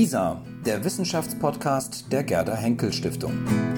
WISA, der Wissenschaftspodcast der Gerda Henkel Stiftung.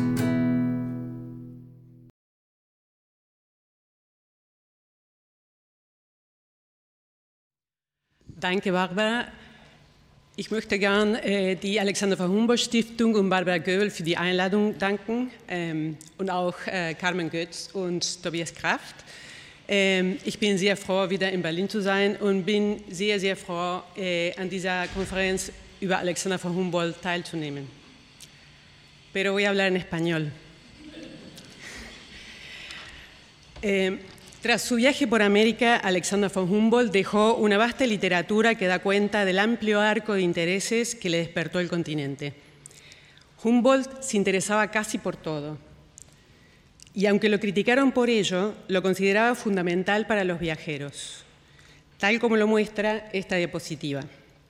Danke, Barbara. Ich möchte gern die Alexander von Humboldt Stiftung und Barbara Göbel für die Einladung danken und auch Carmen Götz und Tobias Kraft. Ich bin sehr froh, wieder in Berlin zu sein und bin sehr, sehr froh, an dieser Konferenz über Alexander von Humboldt teilzunehmen. Pero voy a hablar en español. Tras su viaje por América, Alexander von Humboldt dejó una vasta literatura que da cuenta del amplio arco de intereses que le despertó el continente. Humboldt se interesaba casi por todo, y aunque lo criticaron por ello, lo consideraba fundamental para los viajeros, tal como lo muestra esta diapositiva.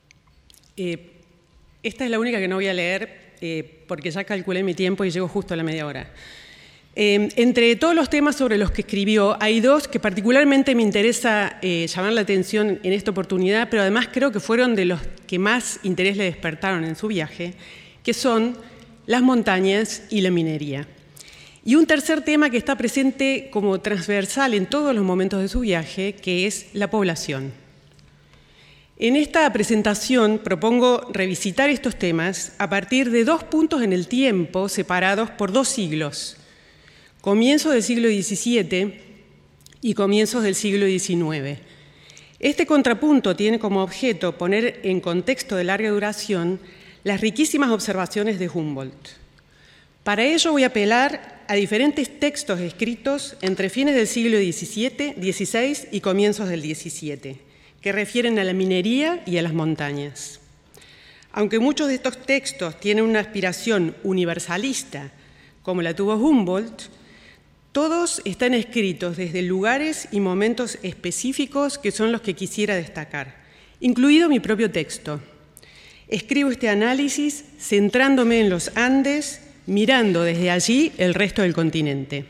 Esta es la única que no voy a leer porque ya calculé mi tiempo y llego justo a la media hora. Entre todos los temas sobre los que escribió, hay dos que particularmente me interesa llamar la atención en esta oportunidad, pero además creo que fueron de los que más interés le despertaron en su viaje, que son las montañas y la minería. Y un tercer tema que está presente como transversal en todos los momentos de su viaje, que es la población. En esta presentación propongo revisitar estos temas a partir de dos puntos en el tiempo separados por 2 siglos, comienzos del siglo XVII y comienzos del siglo XIX. Este contrapunto tiene como objeto poner en contexto de larga duración las riquísimas observaciones de Humboldt. Para ello voy a apelar a diferentes textos escritos entre fines del siglo XVII, XVI y comienzos del XVII, que refieren a la minería y a las montañas. Aunque muchos de estos textos tienen una aspiración universalista, como la tuvo Humboldt, todos están escritos desde lugares y momentos específicos que son los que quisiera destacar, incluido mi propio texto. Escribo este análisis centrándome en los Andes, mirando desde allí el resto del continente.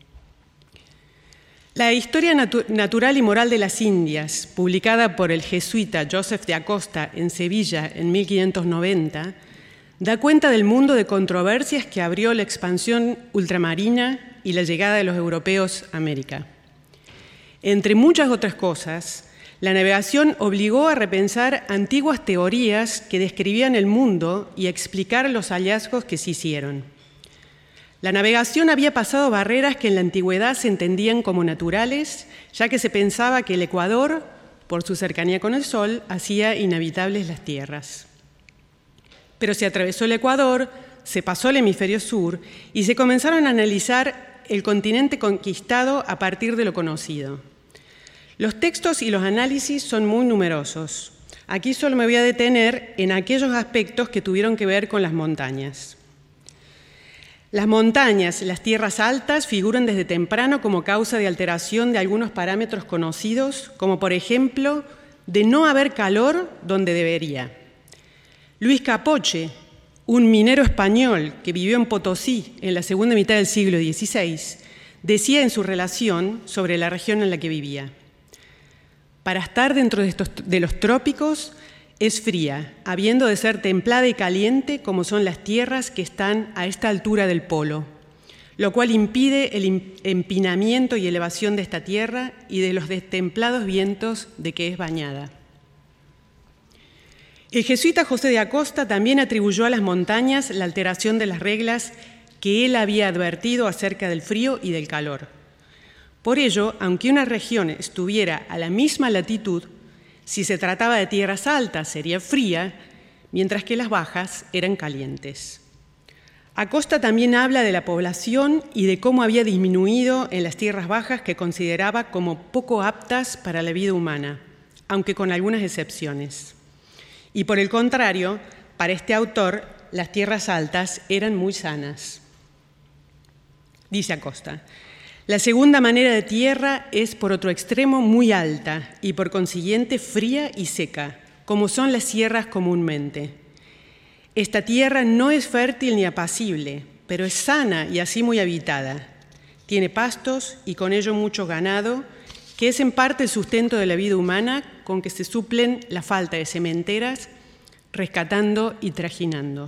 La Historia Natural y Moral de las Indias, publicada por el jesuita Joseph de Acosta en Sevilla en 1590, da cuenta del mundo de controversias que abrió la expansión ultramarina y la llegada de los europeos a América. Entre muchas otras cosas, la navegación obligó a repensar antiguas teorías que describían el mundo y a explicar los hallazgos que se hicieron. La navegación había pasado barreras que en la antigüedad se entendían como naturales, ya que se pensaba que el Ecuador, por su cercanía con el Sol, hacía inhabitables las tierras. Pero se atravesó el Ecuador, se pasó al hemisferio sur y se comenzaron a analizar el continente conquistado a partir de lo conocido. Los textos y los análisis son muy numerosos. Aquí solo me voy a detener en aquellos aspectos que tuvieron que ver con las montañas. Las montañas, las tierras altas, figuran desde temprano como causa de alteración de algunos parámetros conocidos, como por ejemplo, de no haber calor donde debería. Luis Capoche, un minero español que vivió en Potosí en la segunda mitad del siglo XVI, decía en su relación sobre la región en la que vivía: para estar dentro de los trópicos es fría, habiendo de ser templada y caliente como son las tierras que están a esta altura del polo, lo cual impide el empinamiento y elevación de esta tierra y de los destemplados vientos de que es bañada. El jesuita José de Acosta también atribuyó a las montañas la alteración de las reglas que él había advertido acerca del frío y del calor. Por ello, aunque una región estuviera a la misma latitud, si se trataba de tierras altas sería fría, mientras que las bajas eran calientes. Acosta también habla de la población y de cómo había disminuido en las tierras bajas que consideraba como poco aptas para la vida humana, aunque con algunas excepciones. Y por el contrario, para este autor, las tierras altas eran muy sanas. Dice Acosta: la segunda manera de tierra es, por otro extremo, muy alta y por consiguiente fría y seca, como son las sierras comúnmente. Esta tierra no es fértil ni apacible, pero es sana y así muy habitada. Tiene pastos y con ello mucho ganado, que es en parte el sustento de la vida humana, con que se suplen la falta de sementeras, rescatando y trajinando.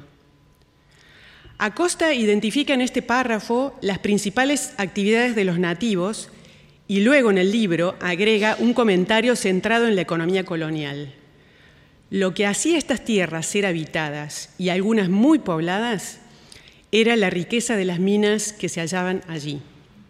Acosta identifica en este párrafo las principales actividades de los nativos y luego en el libro agrega un comentario centrado en la economía colonial. Lo que hacía estas tierras ser habitadas y algunas muy pobladas era la riqueza de las minas que se hallaban allí.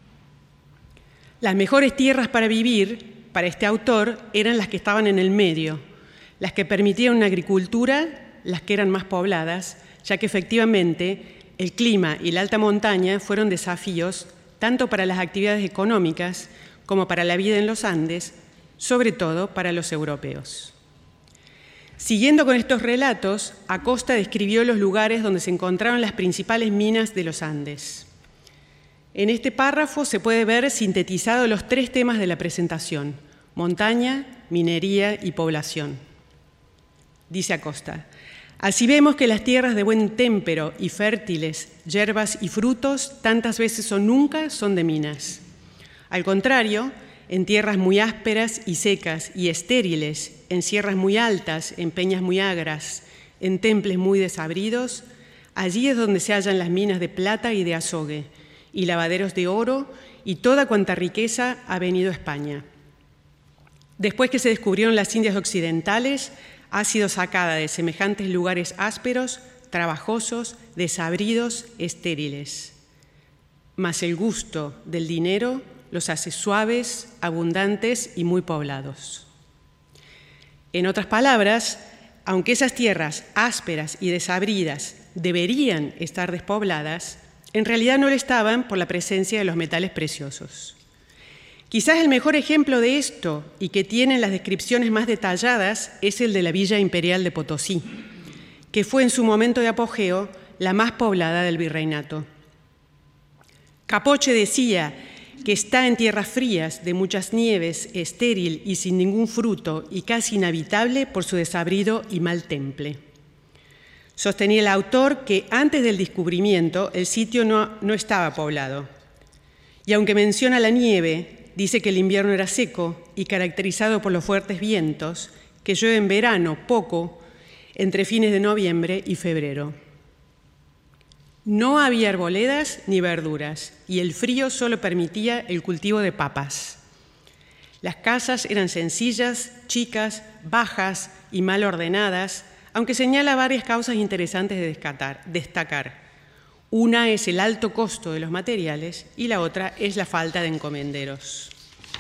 Las mejores tierras para vivir, para este autor, eran las que estaban en el medio, las que permitían una agricultura, las que eran más pobladas, ya que efectivamente el clima y la alta montaña fueron desafíos tanto para las actividades económicas como para la vida en los Andes, sobre todo para los europeos. Siguiendo con estos relatos, Acosta describió los lugares donde se encontraban las principales minas de los Andes. En este párrafo se puede ver sintetizados los tres temas de la presentación: montaña, minería y población. Dice Acosta: así vemos que las tierras de buen témpero y fértiles, hierbas y frutos, tantas veces o nunca son de minas. Al contrario, en tierras muy ásperas y secas y estériles, en sierras muy altas, en peñas muy agras, en temples muy desabridos, allí es donde se hallan las minas de plata y de azogue, y lavaderos de oro, y toda cuanta riqueza ha venido a España. Después que se descubrieron las Indias occidentales, ha sido sacada de semejantes lugares ásperos, trabajosos, desabridos, estériles. Mas el gusto del dinero los hace suaves, abundantes y muy poblados. En otras palabras, aunque esas tierras ásperas y desabridas deberían estar despobladas, en realidad no lo estaban por la presencia de los metales preciosos. Quizás el mejor ejemplo de esto, y que tiene las descripciones más detalladas, es el de la Villa Imperial de Potosí, que fue en su momento de apogeo la más poblada del virreinato. Capoche decía que está en tierras frías, de muchas nieves, estéril y sin ningún fruto, y casi inhabitable por su desabrido y mal temple. Sostenía el autor que antes del descubrimiento el sitio no estaba poblado. Y aunque menciona la nieve, dice que el invierno era seco y caracterizado por los fuertes vientos, que llueve en verano poco, entre fines de noviembre y febrero. No había arboledas ni verduras, y el frío solo permitía el cultivo de papas. Las casas eran sencillas, chicas, bajas y mal ordenadas, aunque señala varias causas interesantes de destacar. Una es el alto costo de los materiales y la otra es la falta de encomenderos.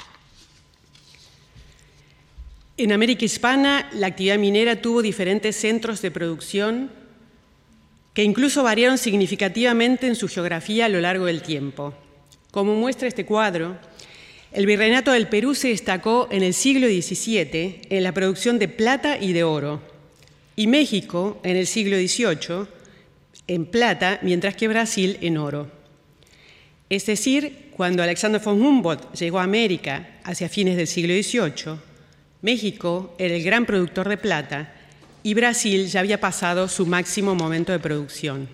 En América Hispana, la actividad minera tuvo diferentes centros de producción que incluso variaron significativamente en su geografía a lo largo del tiempo. Como muestra este cuadro, el Virreinato del Perú se destacó en el siglo XVII en la producción de plata y de oro, y México en el siglo XVIII en plata, mientras que Brasil en oro. Es decir, cuando Alexander von Humboldt llegó a América hacia fines del siglo XVIII, México era el gran productor de plata y Brasil ya había pasado su máximo momento de producción.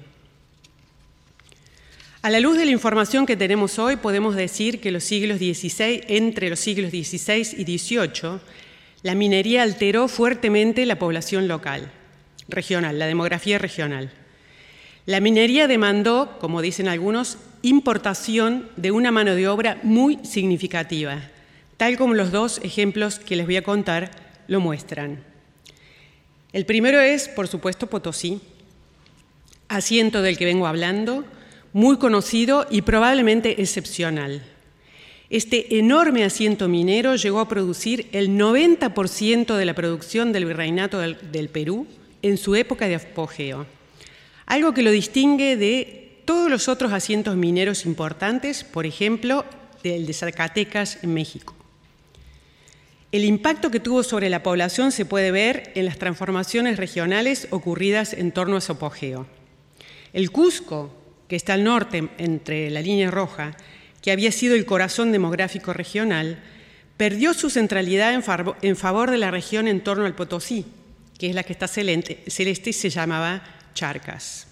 A la luz de la información que tenemos hoy, podemos decir que entre los siglos XVI y XVIII, la minería alteró fuertemente la población local, regional, la demografía regional. La minería demandó, como dicen algunos, importación de una mano de obra muy significativa, tal como los dos ejemplos que les voy a contar lo muestran. El primero es, por supuesto, Potosí, asiento del que vengo hablando, muy conocido y probablemente excepcional. Este enorme asiento minero llegó a producir el 90% de la producción del Virreinato del Perú en su época de apogeo, algo que lo distingue de todos los otros asientos mineros importantes, por ejemplo, del de Zacatecas en México. El impacto que tuvo sobre la población se puede ver en las transformaciones regionales ocurridas en torno a su apogeo. El Cusco, que está al norte entre la línea roja, que había sido el corazón demográfico regional, perdió su centralidad en favor de la región en torno al Potosí, que es la que está celeste y se llamaba Charcas.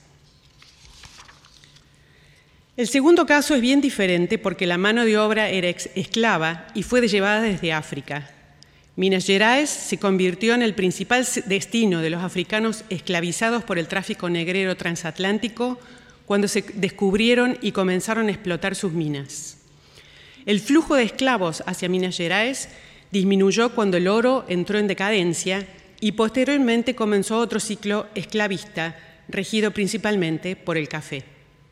El segundo caso es bien diferente porque la mano de obra era esclava y fue llevada desde África. Minas Gerais se convirtió en el principal destino de los africanos esclavizados por el tráfico negrero transatlántico cuando se descubrieron y comenzaron a explotar sus minas. El flujo de esclavos hacia Minas Gerais disminuyó cuando el oro entró en decadencia y posteriormente comenzó otro ciclo esclavista regido principalmente por el café.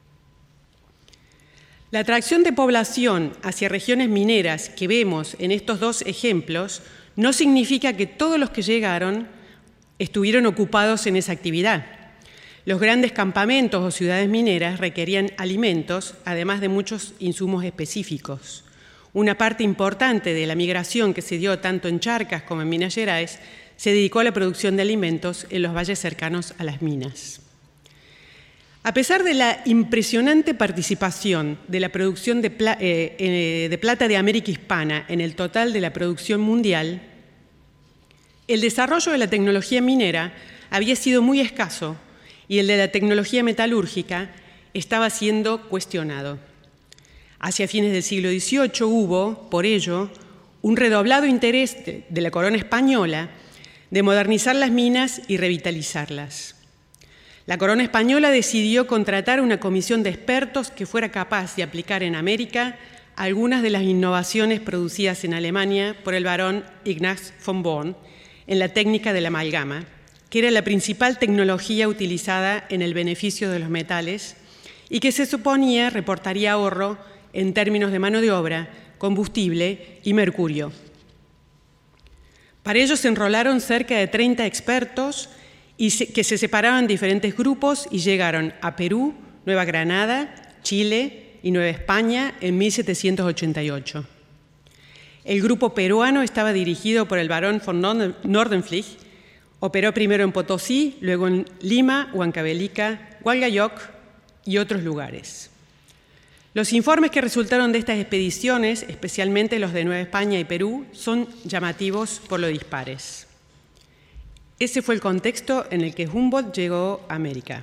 La atracción de población hacia regiones mineras que vemos en estos dos ejemplos no significa que todos los que llegaron estuvieron ocupados en esa actividad. Los grandes campamentos o ciudades mineras requerían alimentos, además de muchos insumos específicos. Una parte importante de la migración que se dio tanto en Charcas como en Minas Gerais se dedicó a la producción de alimentos en los valles cercanos a las minas. A pesar de la impresionante participación de la producción de plata de América Hispana en el total de la producción mundial, el desarrollo de la tecnología minera había sido muy escaso y el de la tecnología metalúrgica estaba siendo cuestionado. Hacia fines del siglo XVIII hubo, por ello, un redoblado interés de la corona española de modernizar las minas y revitalizarlas. La corona española decidió contratar una comisión de expertos que fuera capaz de aplicar en América algunas de las innovaciones producidas en Alemania por el barón Ignaz von Born en la técnica de la amalgama, que era la principal tecnología utilizada en el beneficio de los metales y que se suponía reportaría ahorro en términos de mano de obra, combustible y mercurio. Para ello se enrolaron cerca de 30 expertos que se separaban en diferentes grupos y llegaron a Perú, Nueva Granada, Chile y Nueva España en 1788. El grupo peruano estaba dirigido por el barón von Nordenflich. Operó primero en Potosí, luego en Lima, Huancavelica, Hualgayoc y otros lugares. Los informes que resultaron de estas expediciones, especialmente los de Nueva España y Perú, son llamativos por lo dispares. Ese fue el contexto en el que Humboldt llegó a América.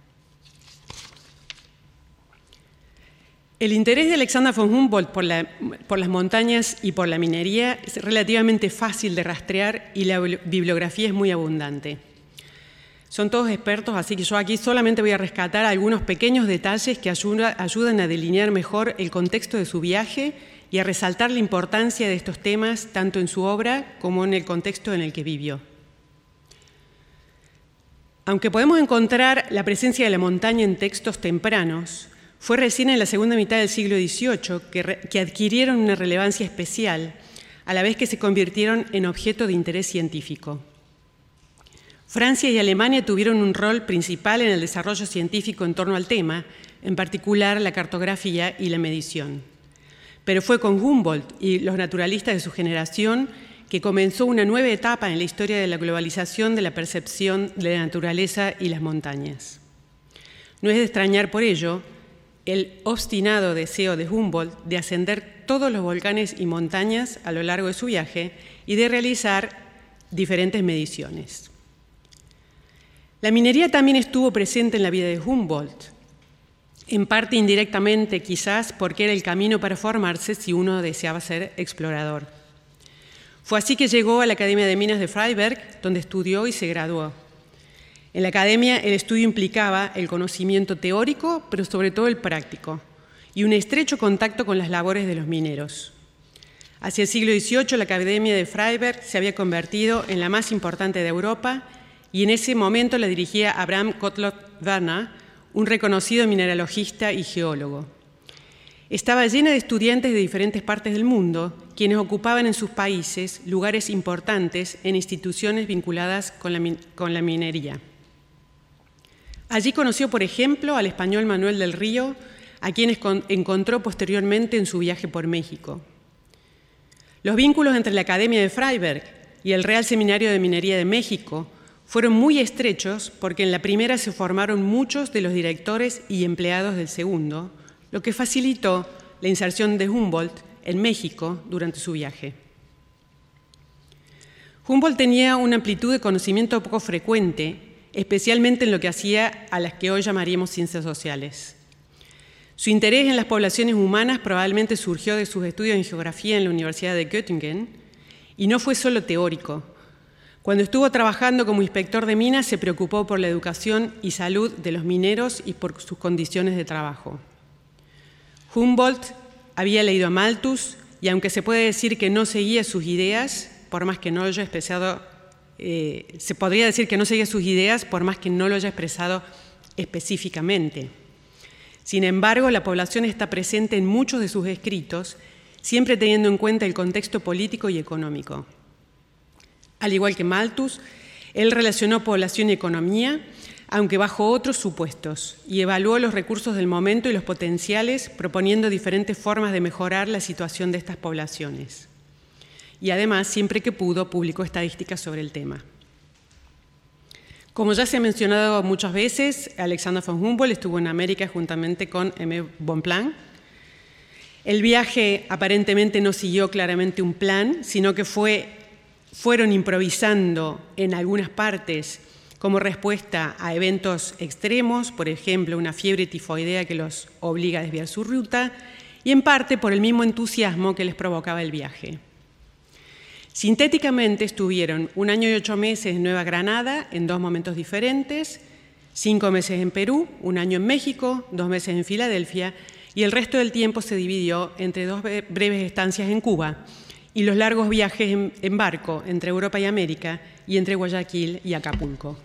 El interés de Alexander von Humboldt por las montañas y por la minería es relativamente fácil de rastrear y la bibliografía es muy abundante. Son todos expertos, así que yo aquí solamente voy a rescatar algunos pequeños detalles que ayudan a delinear mejor el contexto de su viaje y a resaltar la importancia de estos temas tanto en su obra como en el contexto en el que vivió. Aunque podemos encontrar la presencia de la montaña en textos tempranos, fue recién en la segunda mitad del siglo XVIII que adquirieron una relevancia especial, a la vez que se convirtieron en objeto de interés científico. Francia y Alemania tuvieron un rol principal en el desarrollo científico en torno al tema, en particular la cartografía y la medición. Pero fue con Humboldt y los naturalistas de su generación que comenzó una nueva etapa en la historia de la globalización de la percepción de la naturaleza y las montañas. No es de extrañar por ello el obstinado deseo de Humboldt de ascender todos los volcanes y montañas a lo largo de su viaje y de realizar diferentes mediciones. La minería también estuvo presente en la vida de Humboldt, en parte indirectamente quizás porque era el camino para formarse si uno deseaba ser explorador. Fue así que llegó a la Academia de Minas de Freiberg, donde estudió y se graduó. En la academia el estudio implicaba el conocimiento teórico, pero sobre todo el práctico, y un estrecho contacto con las labores de los mineros. Hacia el siglo XVIII la Academia de Freiberg se había convertido en la más importante de Europa y en ese momento la dirigía Abraham Gottlob Werner, un reconocido mineralogista y geólogo. Estaba llena de estudiantes de diferentes partes del mundo, quienes ocupaban en sus países lugares importantes en instituciones vinculadas con la minería. Allí conoció, por ejemplo, al español Manuel del Río, a quienes encontró posteriormente en su viaje por México. Los vínculos entre la Academia de Freiberg y el Real Seminario de Minería de México fueron muy estrechos porque en la primera se formaron muchos de los directores y empleados del segundo, lo que facilitó la inserción de Humboldt en México durante su viaje. Humboldt tenía una amplitud de conocimiento poco frecuente, especialmente en lo que hacía a las que hoy llamaríamos ciencias sociales. Su interés en las poblaciones humanas probablemente surgió de sus estudios en geografía en la Universidad de Göttingen Y no fue solo teórico. Cuando estuvo trabajando como inspector de minas, se preocupó por la educación y salud de los mineros y por sus condiciones de trabajo. Humboldt había leído a Malthus y aunque se puede decir que no seguía sus ideas, por más que no lo haya expresado, se podría decir que no seguía sus ideas por más que no lo haya expresado específicamente. Sin embargo, la población está presente en muchos de sus escritos, siempre teniendo en cuenta el contexto político y económico. Al igual que Malthus, él relacionó población y economía, aunque bajo otros supuestos, y evaluó los recursos del momento y los potenciales, proponiendo diferentes formas de mejorar la situación de estas poblaciones. Y además, siempre que pudo, publicó estadísticas sobre el tema. Como ya se ha mencionado muchas veces, Alexander von Humboldt estuvo en América juntamente con Aimé Bonpland. El viaje aparentemente no siguió claramente un plan, sino que fueron improvisando en algunas partes como respuesta a eventos extremos, por ejemplo, una fiebre tifoidea que los obliga a desviar su ruta, y en parte por el mismo entusiasmo que les provocaba el viaje. Sintéticamente estuvieron 1 año y 8 meses en Nueva Granada, en 2 momentos diferentes, 5 meses en Perú, 1 año en México, 2 meses en Filadelfia, y el resto del tiempo se dividió entre 2 breves estancias en Cuba y los largos viajes en barco entre Europa y América y entre Guayaquil y Acapulco.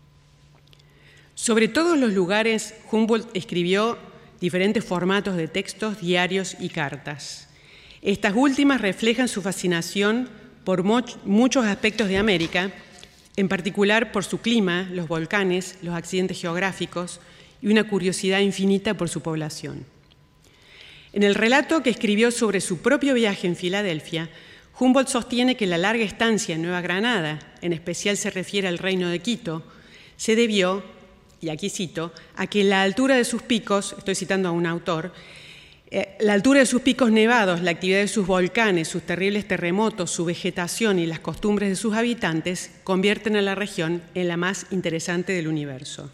Sobre todos los lugares, Humboldt escribió diferentes formatos de textos, diarios y cartas. Estas últimas reflejan su fascinación por muchos aspectos de América, en particular por su clima, los volcanes, los accidentes geográficos y una curiosidad infinita por su población. En el relato que escribió sobre su propio viaje en Filadelfia, Humboldt sostiene que la larga estancia en Nueva Granada, en especial se refiere al reino de Quito, se debió, y aquí cito, a que la altura de sus picos, estoy citando a un autor, la altura de sus picos nevados, la actividad de sus volcanes, sus terribles terremotos, su vegetación y las costumbres de sus habitantes convierten a la región en la más interesante del universo.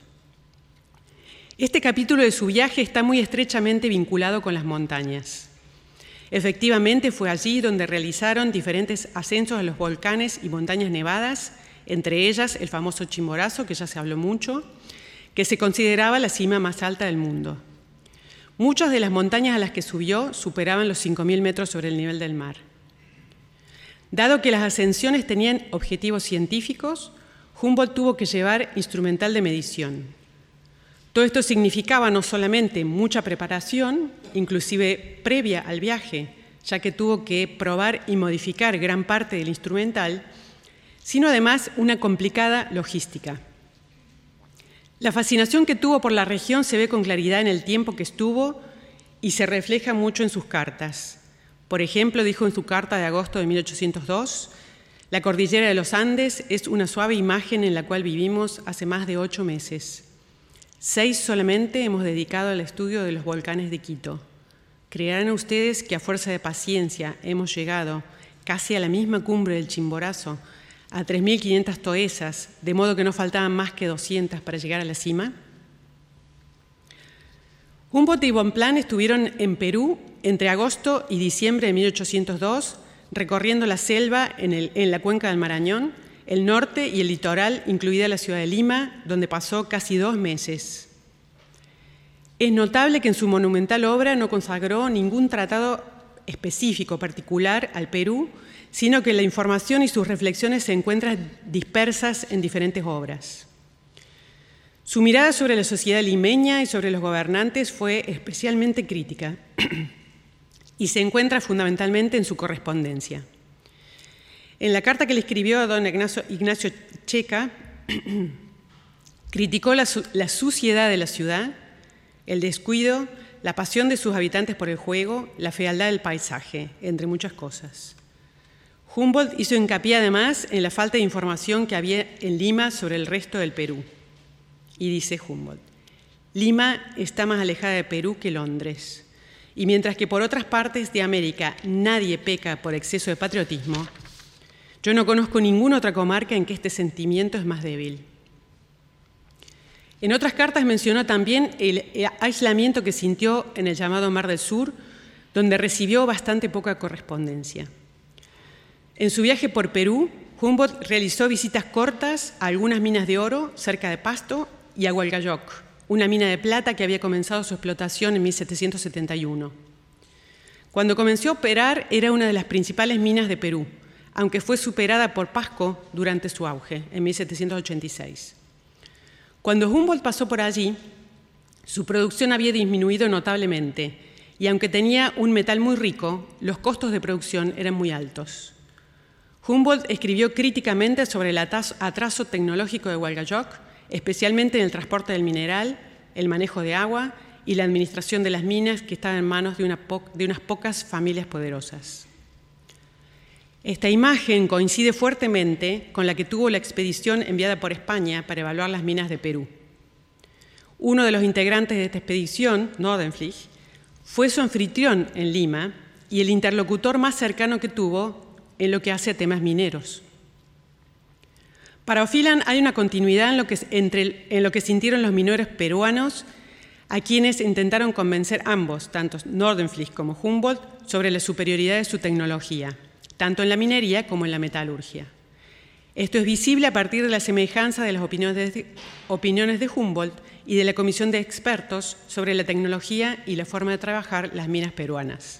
Este capítulo de su viaje está muy estrechamente vinculado con las montañas. Efectivamente, fue allí donde realizaron diferentes ascensos a los volcanes y montañas nevadas, entre ellas el famoso Chimborazo, que ya se habló mucho, que se consideraba la cima más alta del mundo. Muchas de las montañas a las que subió superaban los 5.000 metros sobre el nivel del mar. Dado que las ascensiones tenían objetivos científicos, Humboldt tuvo que llevar instrumental de medición. Todo esto significaba no solamente mucha preparación, inclusive previa al viaje, ya que tuvo que probar y modificar gran parte del instrumental, sino además una complicada logística. La fascinación que tuvo por la región se ve con claridad en el tiempo que estuvo y se refleja mucho en sus cartas. Por ejemplo, dijo en su carta de agosto de 1802, «La cordillera de los Andes es una suave imagen en la cual vivimos hace más de 8 meses. 6 solamente hemos dedicado al estudio de los volcanes de Quito. Creerán ustedes que a fuerza de paciencia hemos llegado casi a la misma cumbre del Chimborazo, a 3.500 toesas, de modo que no faltaban más que 200 para llegar a la cima». Humboldt y Bonpland estuvieron en Perú entre agosto y diciembre de 1802, recorriendo la selva en la cuenca del Marañón, el norte y el litoral, incluida la ciudad de Lima, donde pasó casi 2 meses. Es notable que en su monumental obra no consagró ningún tratado específico particular al Perú, sino que la información y sus reflexiones se encuentran dispersas en diferentes obras. Su mirada sobre la sociedad limeña y sobre los gobernantes fue especialmente crítica y se encuentra fundamentalmente en su correspondencia. En la carta que le escribió a don Ignacio Checa, criticó la suciedad de la ciudad, el descuido, la pasión de sus habitantes por el juego, la fealdad del paisaje, entre muchas cosas. Humboldt hizo hincapié además en la falta de información que había en Lima sobre el resto del Perú. Y dice Humboldt, Lima está más alejada de Perú que Londres, y mientras que por otras partes de América nadie peca por exceso de patriotismo, yo no conozco ninguna otra comarca en que este sentimiento es más débil. En otras cartas mencionó también el aislamiento que sintió en el llamado Mar del Sur, donde recibió bastante poca correspondencia. En su viaje por Perú, Humboldt realizó visitas cortas a algunas minas de oro cerca de Pasto y a Hualgayoc, una mina de plata que había comenzado su explotación en 1771. Cuando comenzó a operar, era una de las principales minas de Perú, aunque fue superada por Pasco durante su auge, en 1786. Cuando Humboldt pasó por allí, su producción había disminuido notablemente, y aunque tenía un metal muy rico, los costos de producción eran muy altos. Humboldt escribió críticamente sobre el atraso tecnológico de Hualgayoc, especialmente en el transporte del mineral, el manejo de agua y la administración de las minas que estaban en manos de unas pocas familias poderosas. Esta imagen coincide fuertemente con la que tuvo la expedición enviada por España para evaluar las minas de Perú. Uno de los integrantes de esta expedición, Nordenflich, fue su anfitrión en Lima y el interlocutor más cercano que tuvo en lo que hace a temas mineros. Para O'Phelan hay una continuidad en lo que sintieron los mineros peruanos, a quienes intentaron convencer ambos, tanto Nordenflich como Humboldt, sobre la superioridad de su tecnología, tanto en la minería como en la metalurgia. Esto es visible a partir de la semejanza de las opiniones de Humboldt y de la comisión de expertos sobre la tecnología y la forma de trabajar las minas peruanas.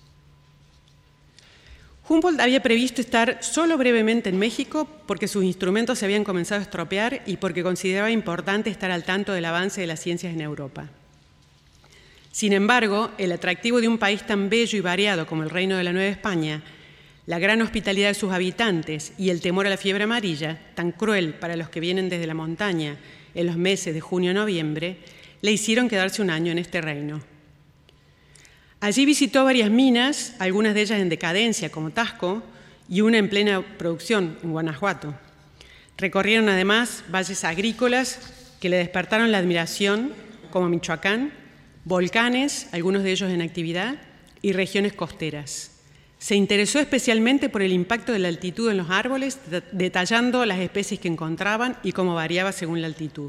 Humboldt había previsto estar solo brevemente en México porque sus instrumentos se habían comenzado a estropear y porque consideraba importante estar al tanto del avance de las ciencias en Europa. Sin embargo, el atractivo de un país tan bello y variado como el Reino de la Nueva España, la gran hospitalidad de sus habitantes y el temor a la fiebre amarilla, tan cruel para los que vienen desde la montaña en los meses de junio a noviembre, le hicieron quedarse un año en este reino. Allí visitó varias minas, algunas de ellas en decadencia, como Tasco, y una en plena producción, en Guanajuato. Recorrieron además valles agrícolas que le despertaron la admiración, como Michoacán, volcanes, algunos de ellos en actividad, y regiones costeras. Se interesó especialmente por el impacto de la altitud en los árboles, detallando las especies que encontraban y cómo variaba según la altitud.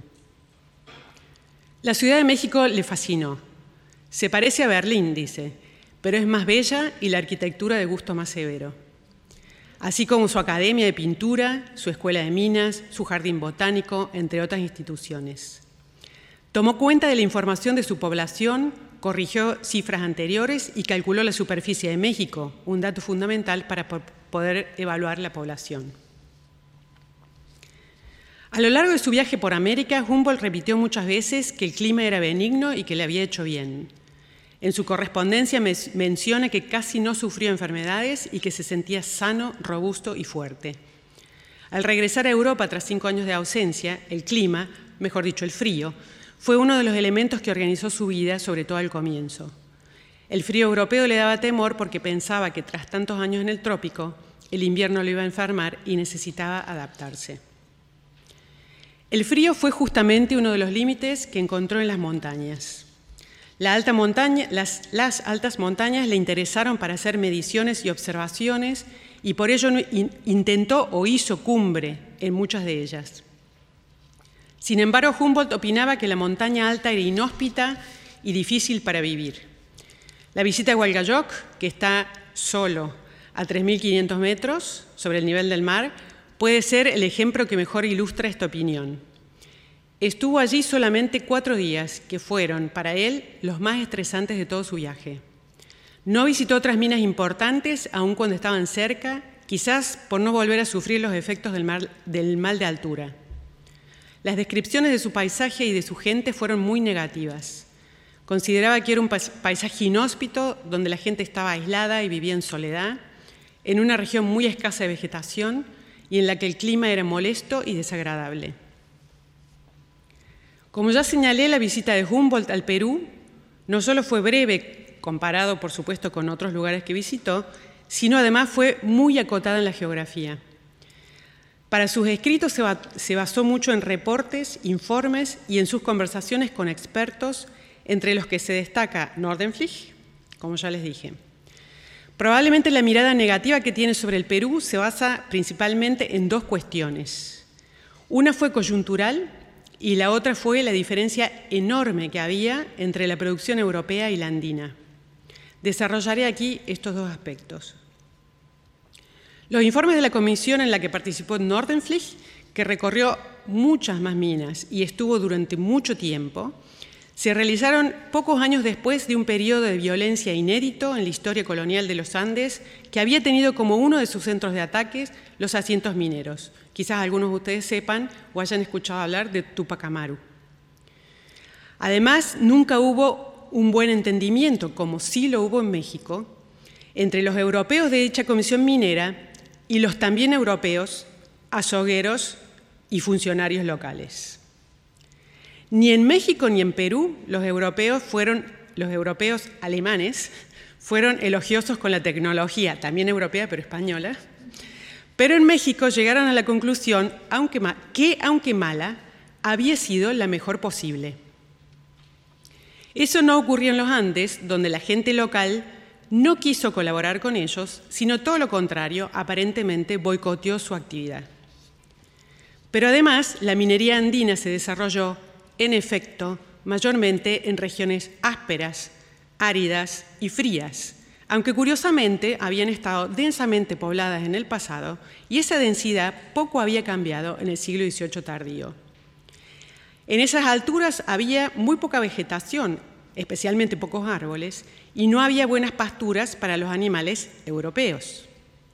La Ciudad de México le fascinó. Se parece a Berlín, dice, pero es más bella y la arquitectura de gusto más severo. Así como su academia de pintura, su escuela de minas, su jardín botánico, entre otras instituciones. Tomó cuenta de la información de su población, corrigió cifras anteriores y calculó la superficie de México, un dato fundamental para poder evaluar la población. A lo largo de su viaje por América, Humboldt repitió muchas veces que el clima era benigno y que le había hecho bien. En su correspondencia menciona que casi no sufrió enfermedades y que se sentía sano, robusto y fuerte. Al regresar a Europa tras 5 años de ausencia, el clima, mejor dicho el frío, fue uno de los elementos que organizó su vida, sobre todo al comienzo. El frío europeo le daba temor porque pensaba que tras tantos años en el trópico, el invierno lo iba a enfermar y necesitaba adaptarse. El frío fue justamente uno de los límites que encontró en las montañas. Las altas montañas le interesaron para hacer mediciones y observaciones y por ello intentó o hizo cumbre en muchas de ellas. Sin embargo, Humboldt opinaba que la montaña alta era inhóspita y difícil para vivir. La visita a Hualgayoc, que está solo a 3.500 metros sobre el nivel del mar, puede ser el ejemplo que mejor ilustra esta opinión. Estuvo allí solamente 4 días, que fueron, para él, los más estresantes de todo su viaje. No visitó otras minas importantes, aun cuando estaban cerca, quizás por no volver a sufrir los efectos del mal de altura. Las descripciones de su paisaje y de su gente fueron muy negativas. Consideraba que era un paisaje inhóspito, donde la gente estaba aislada y vivía en soledad, en una región muy escasa de vegetación y en la que el clima era molesto y desagradable. Como ya señalé, la visita de Humboldt al Perú no solo fue breve, comparado por supuesto con otros lugares que visitó, sino además fue muy acotada en la geografía. Para sus escritos se basó mucho en reportes, informes y en sus conversaciones con expertos, entre los que se destaca Nordenflich, como ya les dije. Probablemente la mirada negativa que tiene sobre el Perú se basa principalmente en 2 cuestiones. Una fue coyuntural y la otra fue la diferencia enorme que había entre la producción europea y la andina. Desarrollaré aquí estos 2 aspectos. Los informes de la comisión en la que participó Nordenflich, que recorrió muchas más minas y estuvo durante mucho tiempo, se realizaron pocos años después de un periodo de violencia inédito en la historia colonial de los Andes, que había tenido como uno de sus centros de ataques los asientos mineros. Quizás algunos de ustedes sepan o hayan escuchado hablar de Túpac Amaru. Además, nunca hubo un buen entendimiento, como sí lo hubo en México, entre los europeos de dicha comisión minera y los también europeos, azogueros y funcionarios locales. Ni en México ni en Perú los europeos alemanes fueron elogiosos con la tecnología, también europea pero española, pero en México llegaron a la conclusión que, aunque mala, había sido la mejor posible. Eso no ocurrió en los Andes, donde la gente local no quiso colaborar con ellos, sino todo lo contrario, aparentemente boicoteó su actividad. Pero además, la minería andina se desarrolló, en efecto, mayormente en regiones ásperas, áridas y frías, aunque curiosamente habían estado densamente pobladas en el pasado y esa densidad poco había cambiado en el siglo XVIII tardío. En esas alturas había muy poca vegetación, especialmente pocos árboles, y no había buenas pasturas para los animales europeos.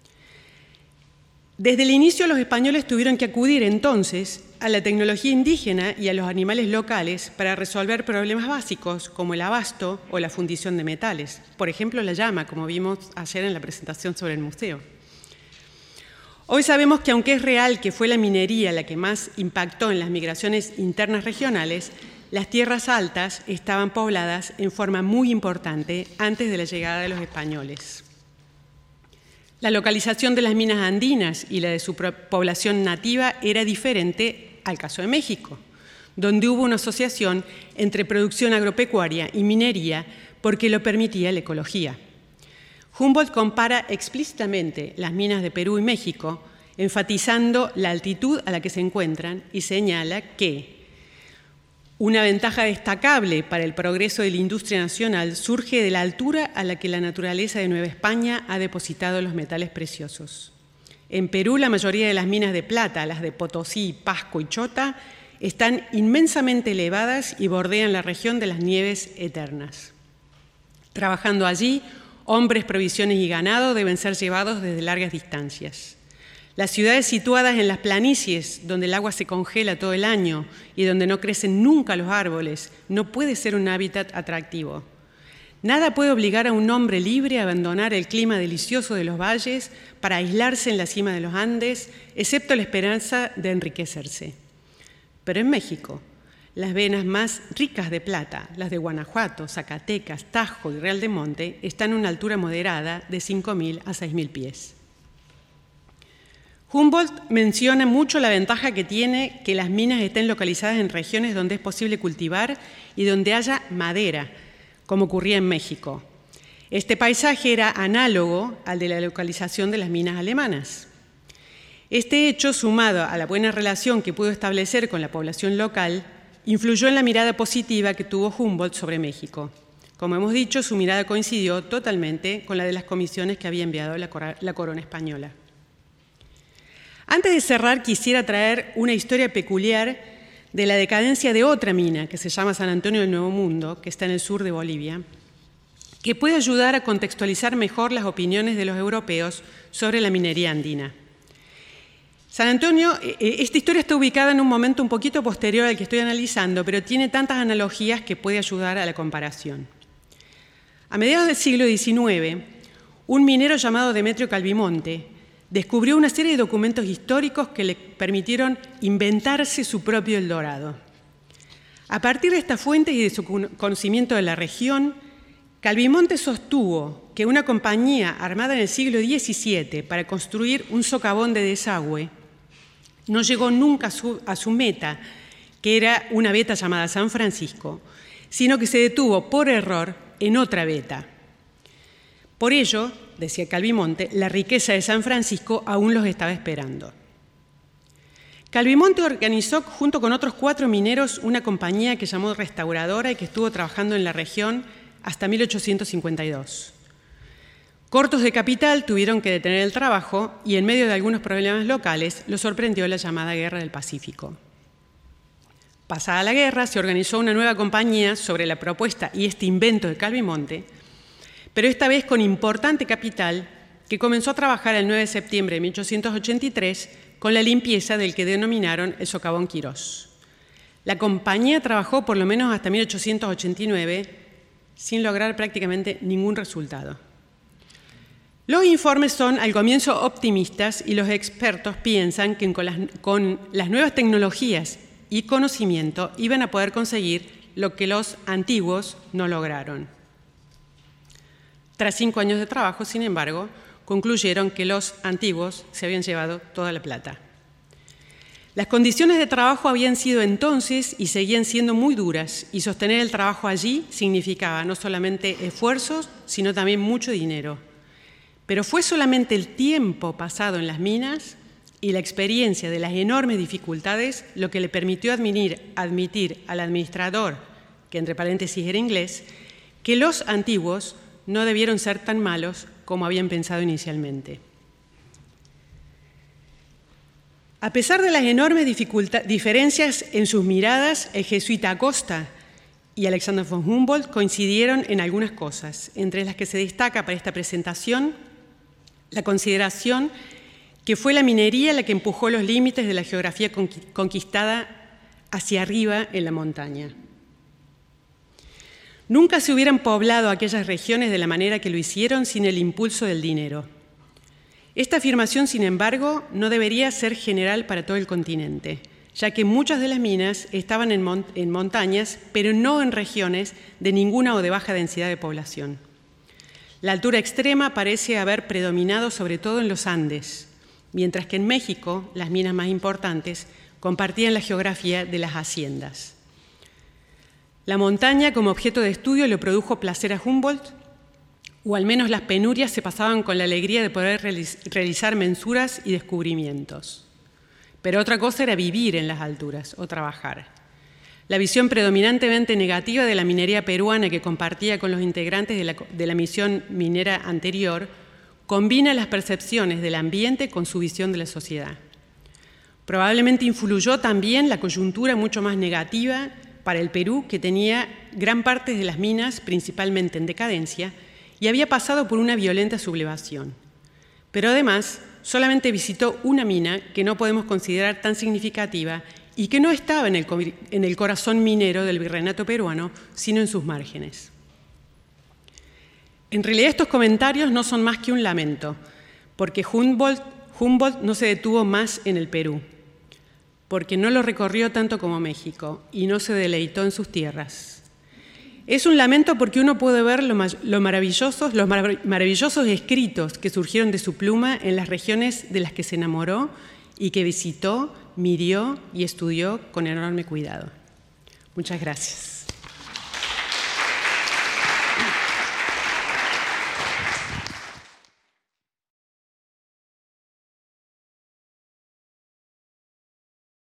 Desde el inicio los españoles tuvieron que acudir entonces a la tecnología indígena y a los animales locales para resolver problemas básicos como el abasto o la fundición de metales. Por ejemplo, la llama, como vimos ayer en la presentación sobre el museo. Hoy sabemos que aunque es real que fue la minería la que más impactó en las migraciones internas regionales, las tierras altas estaban pobladas en forma muy importante antes de la llegada de los españoles. La localización de las minas andinas y la de su población nativa era diferente al caso de México, donde hubo una asociación entre producción agropecuaria y minería porque lo permitía la ecología. Humboldt compara explícitamente las minas de Perú y México, enfatizando la altitud a la que se encuentran y señala que una ventaja destacable para el progreso de la industria nacional surge de la altura a la que la naturaleza de Nueva España ha depositado los metales preciosos. En Perú, la mayoría de las minas de plata, las de Potosí, Pasco y Chota, están inmensamente elevadas y bordean la región de las nieves eternas. Trabajando allí, hombres, provisiones y ganado deben ser llevados desde largas distancias. Las ciudades situadas en las planicies, donde el agua se congela todo el año y donde no crecen nunca los árboles, no puede ser un hábitat atractivo. Nada puede obligar a un hombre libre a abandonar el clima delicioso de los valles para aislarse en la cima de los Andes, excepto la esperanza de enriquecerse. Pero en México, las venas más ricas de plata, las de Guanajuato, Zacatecas, Tajo y Real de Monte, están a una altura moderada de 5.000 a 6.000 pies. Humboldt menciona mucho la ventaja que tiene que las minas estén localizadas en regiones donde es posible cultivar y donde haya madera, como ocurría en México. Este paisaje era análogo al de la localización de las minas alemanas. Este hecho, sumado a la buena relación que pudo establecer con la población local, influyó en la mirada positiva que tuvo Humboldt sobre México. Como hemos dicho, su mirada coincidió totalmente con la de las comisiones que había enviado la corona española. Antes de cerrar, quisiera traer una historia peculiar de la decadencia de otra mina, que se llama San Antonio del Nuevo Mundo, que está en el sur de Bolivia, que puede ayudar a contextualizar mejor las opiniones de los europeos sobre la minería andina. San Antonio, esta historia está ubicada en un momento un poquito posterior al que estoy analizando, pero tiene tantas analogías que puede ayudar a la comparación. A mediados del siglo XIX, un minero llamado Demetrio Calvimonte descubrió una serie de documentos históricos que le permitieron inventarse su propio Eldorado. A partir de esta fuente y de su conocimiento de la región, Calvimonte sostuvo que una compañía armada en el siglo XVII para construir un socavón de desagüe no llegó nunca a su meta, que era una veta llamada San Francisco, sino que se detuvo por error en otra veta. Por ello, decía Calvimonte, la riqueza de San Francisco aún los estaba esperando. Calvimonte organizó junto con otros 4 mineros una compañía que llamó Restauradora y que estuvo trabajando en la región hasta 1852. Cortos de capital, tuvieron que detener el trabajo y en medio de algunos problemas locales los sorprendió la llamada Guerra del Pacífico. Pasada la guerra, se organizó una nueva compañía sobre la propuesta y este invento de Calvo y Monte, pero esta vez con importante capital, que comenzó a trabajar el 9 de septiembre de 1883 con la limpieza del que denominaron el socavón Quirós. La compañía trabajó por lo menos hasta 1889 sin lograr prácticamente ningún resultado. Los informes son al comienzo optimistas y los expertos piensan que con las nuevas tecnologías y conocimiento iban a poder conseguir lo que los antiguos no lograron. Tras 5 años de trabajo, sin embargo, concluyeron que los antiguos se habían llevado toda la plata. Las condiciones de trabajo habían sido entonces y seguían siendo muy duras, y sostener el trabajo allí significaba no solamente esfuerzos, sino también mucho dinero. Pero fue solamente el tiempo pasado en las minas y la experiencia de las enormes dificultades lo que le permitió admitir al administrador, que entre paréntesis era inglés, que los antiguos no debieron ser tan malos como habían pensado inicialmente. A pesar de las enormes diferencias en sus miradas, el jesuita Acosta y Alexander von Humboldt coincidieron en algunas cosas, entre las que se destaca para esta presentación la consideración que fue la minería la que empujó los límites de la geografía conquistada hacia arriba en la montaña. Nunca se hubieran poblado aquellas regiones de la manera que lo hicieron sin el impulso del dinero. Esta afirmación, sin embargo, no debería ser general para todo el continente, ya que muchas de las minas estaban en montañas, pero no en regiones de ninguna o de baja densidad de población. La altura extrema parece haber predominado sobre todo en los Andes, mientras que en México las minas más importantes compartían la geografía de las haciendas. La montaña como objeto de estudio le produjo placer a Humboldt, o al menos las penurias se pasaban con la alegría de poder realizar mensuras y descubrimientos. Pero otra cosa era vivir en las alturas o trabajar. La visión predominantemente negativa de la minería peruana que compartía con los integrantes de la misión minera anterior combina las percepciones del ambiente con su visión de la sociedad. Probablemente influyó también la coyuntura mucho más negativa para el Perú, que tenía gran parte de las minas principalmente en decadencia y había pasado por una violenta sublevación. Pero además, solamente visitó una mina que no podemos considerar tan significativa y que no estaba en el corazón minero del virreinato peruano, sino en sus márgenes. En realidad estos comentarios no son más que un lamento, porque Humboldt no se detuvo más en el Perú, porque no lo recorrió tanto como México y no se deleitó en sus tierras. Es un lamento porque uno puede ver los maravillosos escritos que surgieron de su pluma en las regiones de las que se enamoró y que visitó, midió y estudió con enorme cuidado. Muchas gracias.